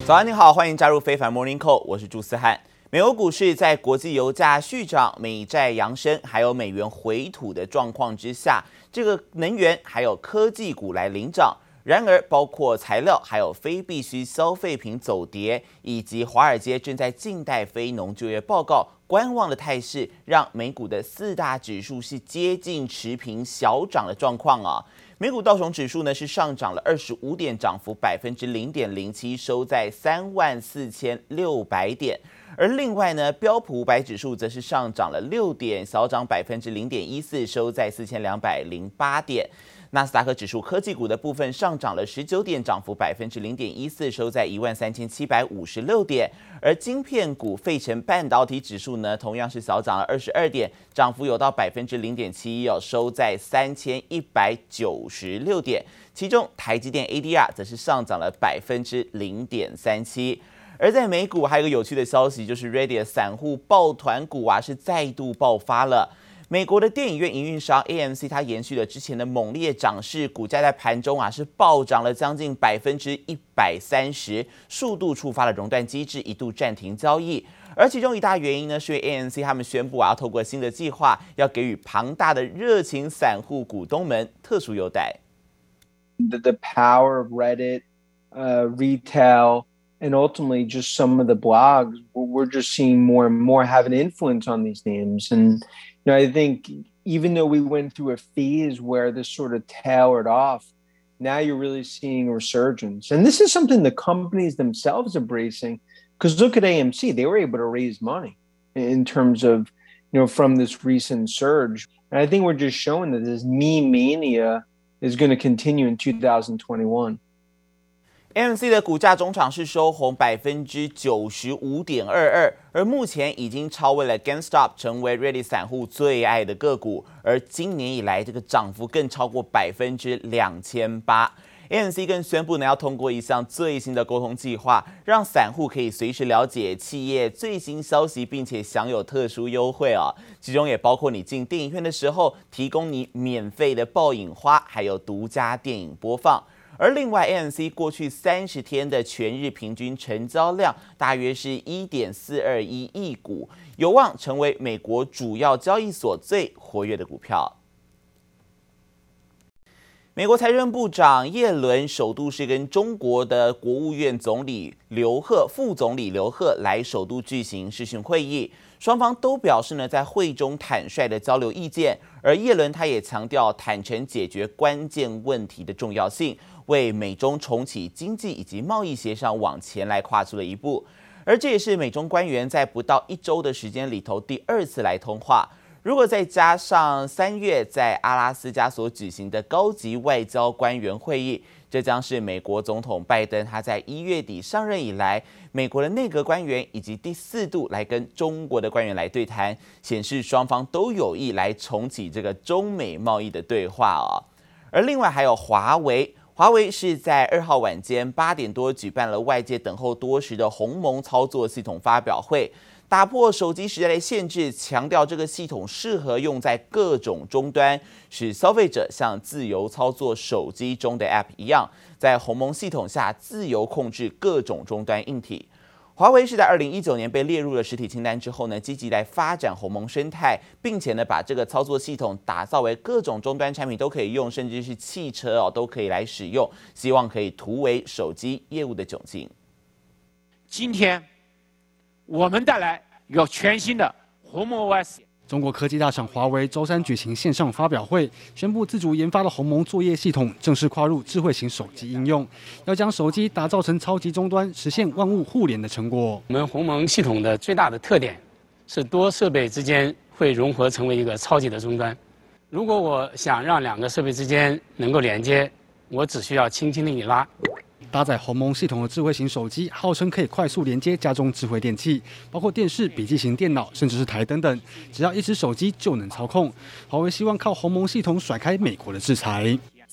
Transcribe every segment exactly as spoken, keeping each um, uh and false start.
早安，你好，歡迎加入非凡 Morning Call， 我是朱思翰。美國股市在國際油價續漲、美債揚升，還有美元回吐的狀況之下，這個能源還有科技股來領漲。然而，包括材料還有非必需消費品走跌，以及華爾街正在靜待非農就業報告觀望的態勢，讓美股的四大指數是接近持平小漲的狀況啊。美股道瓊指數呢是上漲了二十五點，漲幅百分之零點零七，收在三萬四千六百點。而另外呢，標普五百指數則是上漲了六點，小漲百分之零點一四，收在四千兩百零八點。納斯達克指數科技股的部分上漲了十九點，漲幅百分之零點一四，收在一萬三千七百五十六點。而晶片股費城半導體指數呢，同樣是小漲了二十二點，漲幅有到百分之零點七一哦，收在三千一百九十六點。其中台積電 A D R 則是上漲了百分之零點三七。而在美股還有一個有趣的消息，就是 Reddit 散戶抱團股啊是再度爆發了。美國的電影院營運商 A M C 它延續了之前的猛烈漲勢，股價在盤中啊是暴漲了將近百分之一百三十，數度觸發了熔斷機制，一度暫停交易。而其中一大原因呢，是因為 A M C 他們宣布啊，要透過新的計劃，要給予龐大的熱情散戶股東們特殊優待。 The, the power of Reddit, uh, retail, and ultimately just some of the blogs, we're just seeing more and more have an influence on these names. And you know, I think even though we went through a phase where this sort of tailored off, now you're really seeing a resurgence. And this is something the companies themselves are embracing, because look at A M C, they were able to raise money in terms of, you know, from this recent surge. And I think we're just showing that this meme mania is going to continue in two thousand twenty-one. A M C 的股價中場是收紅百分之九十五點二二，而目前已經超越了 GameStop， 成為 Reddit 散戶最愛的個股。而今年以來，這個漲幅更超過百分之兩千八。A M C 更宣布呢，要通過一項最新的溝通計劃，讓散戶可以隨時了解企業最新消息，並且享有特殊優惠啊。其中也包括你進電影院的時候，提供你免費的爆影花，還有獨家電影播放。而另外 ，A M C 過去三十天的全日平均成交量大約是 一點四二一億股，有望成為美國主要交易所最活躍的股票。美國財政部長葉倫首度是跟中國的國務院總理劉鶴、副總理劉鶴來首度舉行視訊會議，雙方都表示呢，在會中坦率的交流意見，而葉倫他也強調坦誠解決關鍵問題的重要性，為美中重啟經濟以及貿易協商往前來跨出了一步。而這也是美中官員在不到一周的時間裡頭第二次來通話。如果再加上三月在阿拉斯加所舉行的高級外交官員會議，這將是美國總統拜登他在一月底上任以來，美國的內閣官員以及第四度來跟中國的官員來對談，顯示雙方都有意來重啟這個中美貿易的對話哦。而另外還有華為，華為是在二號晚間八點多舉辦了外界等候多時的鴻蒙操作系統發表會。打破手機時代的限制，強調這個系統適合用在各種終端，使消費者像自由操作手機中的 App 一樣，在鴻蒙系統下自由控制各種終端硬體。華為是在二零一九年被列入了實體清單之後呢，積極來發展鴻蒙生態，並且呢把這個操作系統打造為各種終端產品都可以用，甚至是汽車哦都可以來使用，希望可以突圍手機業務的窘境。 今天我們帶來一個全新的鴻蒙 O S。 中國科技大廠華為周三舉行線上發表會，宣布自主研發的鴻蒙作業系統正式跨入智慧型手機應用，要將手機打造成超級終端，實現萬物互聯的成果。 我們鴻蒙系統的最大的特點是多設備之間會融合成為一個超級的終端。如果我想讓兩個設備之間能夠連接，我只需要輕輕的一拉。 搭載鴻蒙系統的智慧型手機，號稱可以快速連接家中智慧電器，包括電視、筆記型電腦，甚至是台燈等，只要一隻手機就能操控。華為希望靠鴻蒙系統甩開美國的制裁。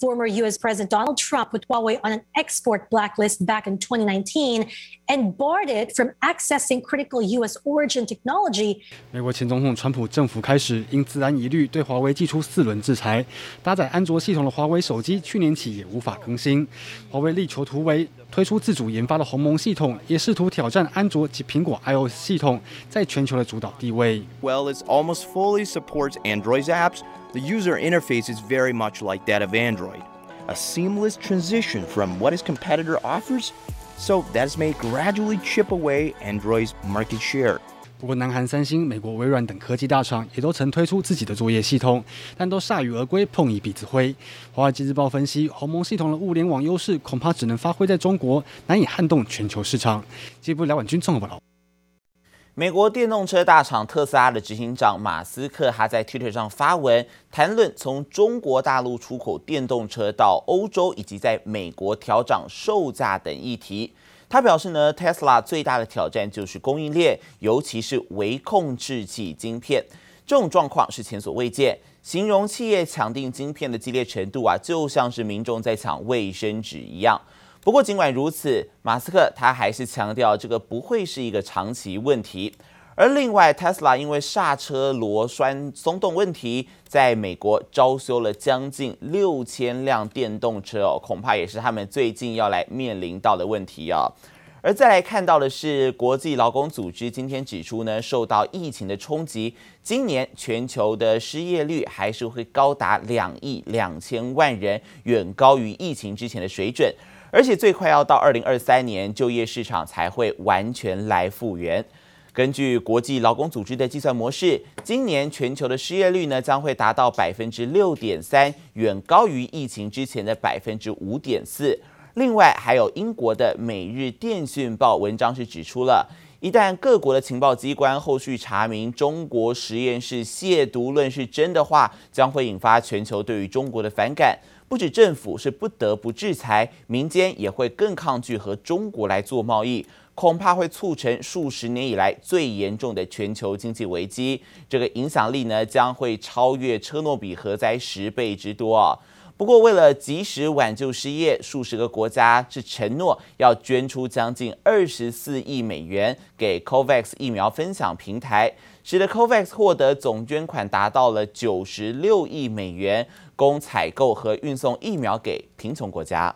former U S President Donald Trump put Huawei on an export blacklist back in twenty nineteen and barred it from accessing critical U S origin technology. 美國前總統川普政府開始因資安疑慮對華為祭出四輪制裁，搭載安卓系統的華為手機去年起也無法更新。華為力求突圍，推出自主研發的鴻蒙系統，也試圖挑戰安卓及蘋果 iOS 系統在全球的主導地位。 Well, it almost fully supports Android's apps. The user interface is very much like that of Android, a seamless transition from what its competitor offers, so that is may gradually chip away Android's market share. 不過，南韓三星、美國微軟等科技大廠也都曾推出自己的作業系統，但都鎩羽而歸，碰一鼻子灰。華爾街日報分析，鴻蒙系統的物聯網優勢恐怕只能發揮在中國，難以撼動全球市場。接部廖婉君綜合報道。 美國電動車大廠特斯拉的執行長馬斯克，他在 Twitter 上發文談論從中國大陸出口電動車到歐洲，以及在美國調漲售價等議題。他表示呢 ，Tesla 最大的挑戰就是供應鏈，尤其是微控制器晶片，這種狀況是前所未見。形容企業搶訂晶片的激烈程度啊，就像是民眾在搶衛生紙一樣。不過，儘管如此，馬斯克他還是強調，這個不會是一個長期問題。而另外 ，Tesla 因為剎車螺栓鬆動問題，在美國招修了將近六千輛電動車哦，恐怕也是他們最近要來面臨到的問題啊。而再來看到的是，國際勞工組織今天指出呢，受到疫情的衝擊，今年全球的失業率還是會高達兩億兩千萬人，遠高於疫情之前的水準。而且最快要到二零二三年，就業市場才會完全來復原。根據國際勞工組織的計算模式，今年全球的失業率呢將會達到百分之六點三，遠高於疫情之前的百分之五點四。另外，還有英國的《每日電訊報》文章是指出了，一旦各國的情報機關後續查明中國實驗室褻瀆論是真的話，將會引發全球對於中國的反感。不止政府是不得不制裁，民間也會更抗拒和中國來做貿易，恐怕會促成數十年以來最嚴重的全球經濟危機。這個影響力呢，將會超越車諾比核災十倍之多啊！不過，為了及時挽救失業，數十個國家是承諾要捐出將近二十四億美元給 COVAX 疫苗分享平台，使得 COVAX 獲得總捐款達到了九十六億美元，供採購和運送疫苗給貧窮國家。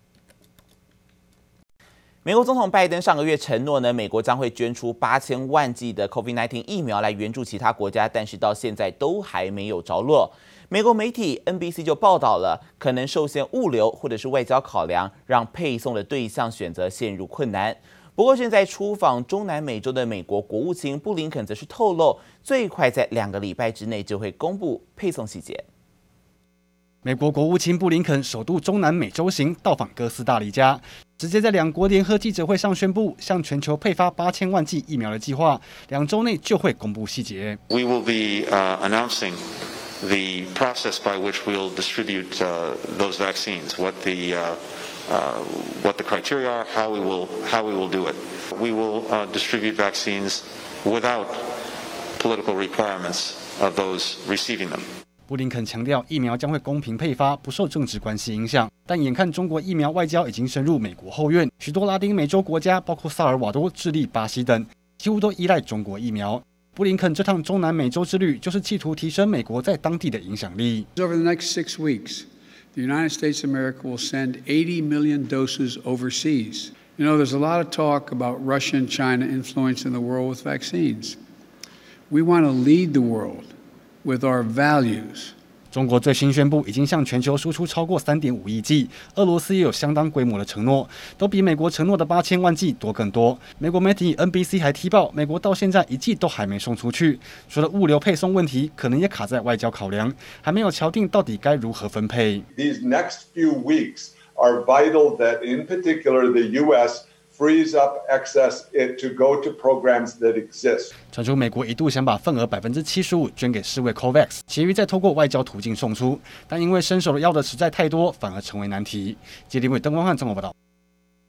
美國總統拜登上個月承諾呢，美國將會捐出八千萬劑的 COVID 十九 疫苗來援助其他國家，但是到現在都還沒有着落。美國媒體 N B C 就報道了，可能受限物流或者是外交考量，讓配送的對象選擇陷入困難。不過，正在出訪中南美洲的美國國務卿布林肯則是透露，最快在兩個禮拜之內就會公布配送細節。 美國國務卿布林肯首度中南美洲行，到訪哥斯大黎加，直接在兩國聯合記者會上宣布，向全球配發八千萬劑疫苗的計劃，兩週內就會公布細節。 We will be uh, announcing the process by which we'll distribute uh, those vaccines, what the uh, uh, what the criteria are, how we will how we will do it. We will uh, distribute vaccines without political requirements of those receiving them. 布林肯強調，疫苗將會公平配發，不受政治關係影響。但眼看中國疫苗外交已經深入美國後院，許多拉丁美洲國家，包括薩爾瓦多、智利、巴西等，幾乎都依賴中國疫苗。布林肯這趟中南美洲之旅，就是企圖提升美國在當地的影響力。 Over the next six weeks, the United States of America will send eighty million doses overseas. You know, there's a lot of talk about Russia and China influencing the world with vaccines. We want to lead the world with our values. 中國最新宣布，已經向全球輸出超過三點五億劑，俄羅斯也有相當規模的承諾，都比美國承諾的八千萬劑多更多。美國媒體 N B C 還踢爆，美國到現在一劑都還沒送出去，除了物流配送問題，可能也卡在外交考量，還沒有敲定到底該如何分配。 These next few weeks are vital that, in particular, the U S frees up excess it to go to programs that exist. 傳出美國一度想把份額百分之七十五捐給世衛 COVAX， 其餘再透過外交途徑送出，但因為伸手要的實在太多，反而成為難題。傑林偉、鄧光漢綜合報道。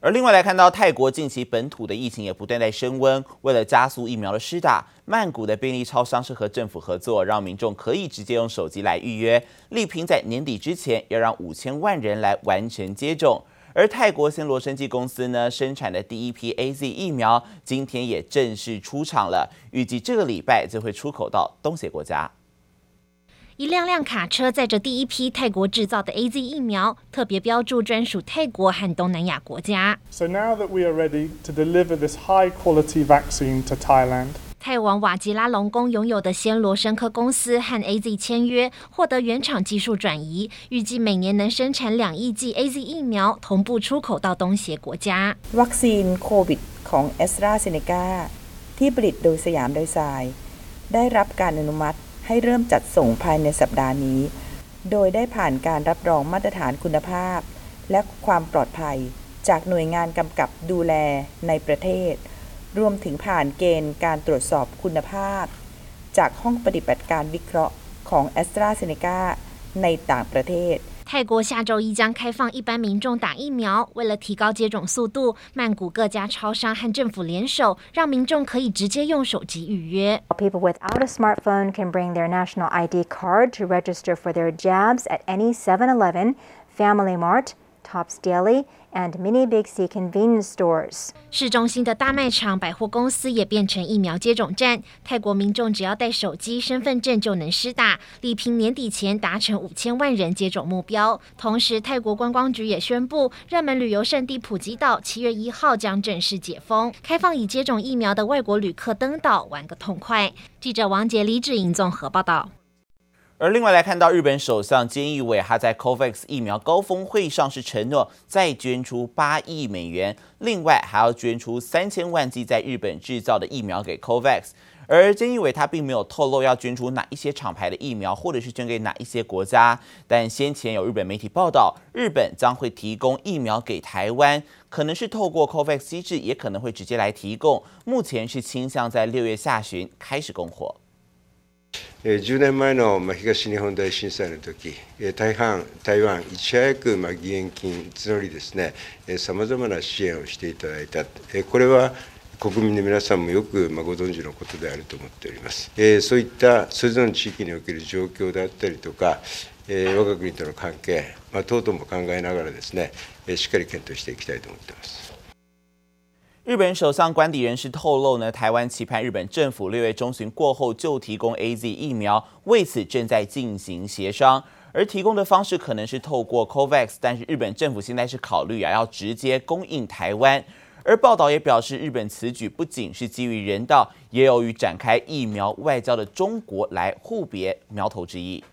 而另外來看到泰國近期本土的疫情也不斷在升溫，為了加速疫苗的施打，曼谷的便利超商是和政府合作，讓民眾可以直接用手機來預約，力拼在年底之前要讓五千萬人來完成接種。而泰國森羅生技公司呢生產的第一批 A Z 疫苗，今天也正式出廠了，預計這個禮拜就會出口到東協國家。 一輛輛卡車載着第一批泰國製造的 A Z 疫苗，特別標注專屬泰國和東南亞國家。 So now that we are ready to deliver this high-quality vaccine to Thailand. 泰王瓦吉拉隆功擁有的暹羅生科公司和 A Z 簽約，獲得原廠技術轉移，預計每年能生產兩億劑 A Z 疫苗，同步出口到東協國家。 วัคซีนโควิดของ AstraZeneca ที่ผลิตโดยสยามไดไซน์ได้รับการอนุมัติให้เริ่มจัดส่งภายในสัปดาห์นี้โดยได้ผ่านการรับรองมาตรฐานคุณภาพและความปลอดภัยจากหน่วยงานกำกับดูแลในประเทศรวมถึงผ่านเกณฑ์การตรวจสอบคุณภาพจากห้องปฏิบัติการวิเคราะห์ของ AstraZeneca ในต่างประเทศ泰國下週一將開放一般民眾打疫苗，為了提高接種速度，曼谷各家超商和政府聯手，讓民眾可以直接用手機預約。 People without a smartphone can bring their national I D card to register for their jabs at any seven eleven, Family Mart, Tops Deli, and Mini Big C convenience stores. 市中心的大賣場、百貨公司也變成疫苗接種站。泰國民眾只要帶手機、身份證就能施打，力拼年底前達成五千萬人接種目標。同時，泰國觀光局也宣布，熱門旅遊勝地普吉島七月一號將正式解封，開放已接種疫苗的外國旅客登島玩個痛快。記者王杰、李芷瑩綜合報道。 而另外來看到，日本首相菅義偉他在 COVAX 疫苗高峰會上是承諾再捐出八億美元，另外還要捐出三千萬劑在日本製造的疫苗給 COVAX。而菅義偉他並沒有透露要捐出哪一些廠牌的疫苗，或者是捐給哪一些國家。但先前有日本媒體報道，日本將會提供疫苗給台灣，可能是透過 COVAX 機制，也可能會直接來提供。目前是傾向在六月下旬開始供貨。 えー、じゅうねんまえの、まあ、東日本大震災の時、えー、台湾、台湾いち早く、まあ、義援金募りですね、さまざまな支援をしていただいた、えー、これは国民の皆さんもよく、まあ、ご存知のことであると思っております。えー、そういったそれぞれの地域における状況であったりとか、えー、我が国との関係、まあ、等々も考えながらですね、えー、しっかり検討していきたいと思っています。 日本首相官邸人士透露呢，台灣期盼日本政府六月中旬過後就提供 A Z 疫苗，為此正在進行協商。而提供的方式可能是透過 COVAX， 但是日本政府現在是考慮啊要直接供應台灣。而報道也表示，日本此舉不僅是基於人道，也有與展開疫苗外交的中國來互別苗頭之意。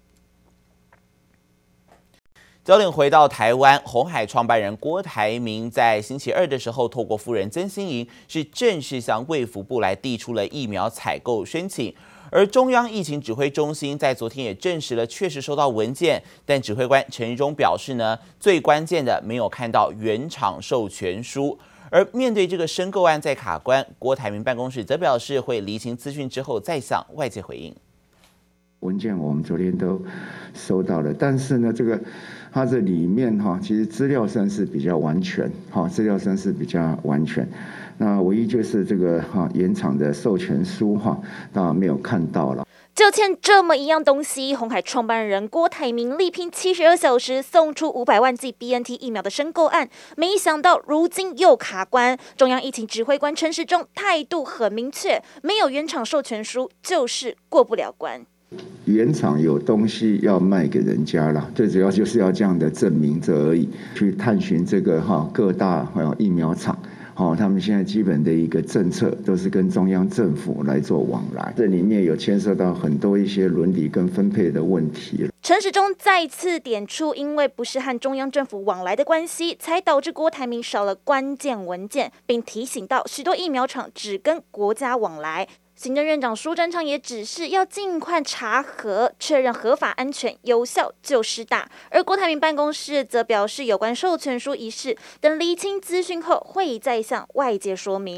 焦點回到台灣，鴻海創辦人郭台銘在星期二的時候，透過夫人曾心怡是正式向衛福部來遞出了疫苗採購申請。而中央疫情指揮中心在昨天也證實了，確實收到文件，但指揮官陳時中表示呢，最關鍵的沒有看到原廠授權書。而面對這個申購案在卡關，郭台銘辦公室則表示會釐清資訊之後再向外界回應。 文件我們昨天都收到了，但是呢，這個它這裡面哈，其實資料上是比較完全，哈，資料上是比較完全。那唯一就是這個哈原廠的授權書哈，當然沒有看到了。 就欠這麼一樣東西，鴻海創辦人郭台銘力拼七十二小時送出五百萬劑 B N T 疫苗的申購案，沒想到如今又卡關。中央疫情指揮官陳時中態度很明確，沒有原廠授權書就是過不了關。 原廠有東西要賣給人家了，最主要就是要這樣的證明這而已。去探尋這個哈各大還有疫苗廠，好，他們現在基本的一個政策都是跟中央政府來做往來，這裡面有牽涉到很多一些倫理跟分配的問題。 陳時中再次點出，因為不是和中央政府往來的關係，才導致郭台銘少了關鍵文件，並提醒到許多疫苗廠只跟國家往來。行政院長蘇貞昌也指示要盡快查核，確認合法、安全、有效就施打。而郭台銘辦公室則表示，有關授權書一事等釐清資訊後，會再向外界說明。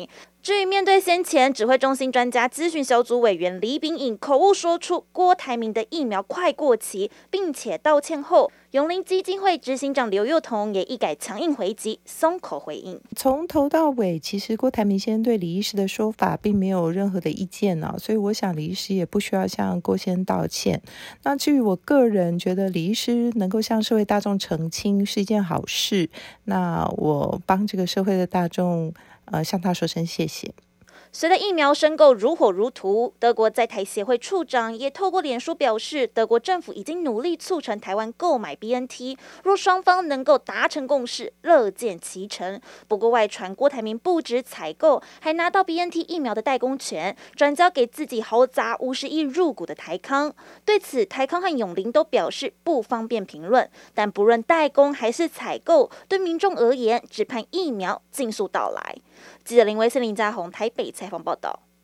至於面對先前指揮中心專家諮詢小組委員李秉穎口誤說出郭台銘的疫苗快過期，並且道歉後，永齡基金會執行長劉宥彤也一改強硬回擊，鬆口回應。 從頭到尾，其實郭台銘先生對李醫師的說法並沒有任何的意見呢、啊，所以我想李醫師也不需要向郭先生道歉。那至於我個人覺得李醫師能夠向社會大眾澄清是一件好事，那我幫這個社會的大眾。呃，向他說聲謝謝。 隨着疫苗申購如火如荼，德國在台協會處長也透過臉書表示，德國政府已經努力促成台灣購買 B N T， 若雙方能夠達成共識，樂見其成。不過外傳郭台銘不止採購，還拿到 B N T 疫苗的代工權，轉交給自己豪砸五十億入股的台康。對此，台康和永齡都表示不方便評論，但不論代工還是採購，對民眾而言，只盼疫苗盡速到來。記者林威森、林家宏台北採訪報道。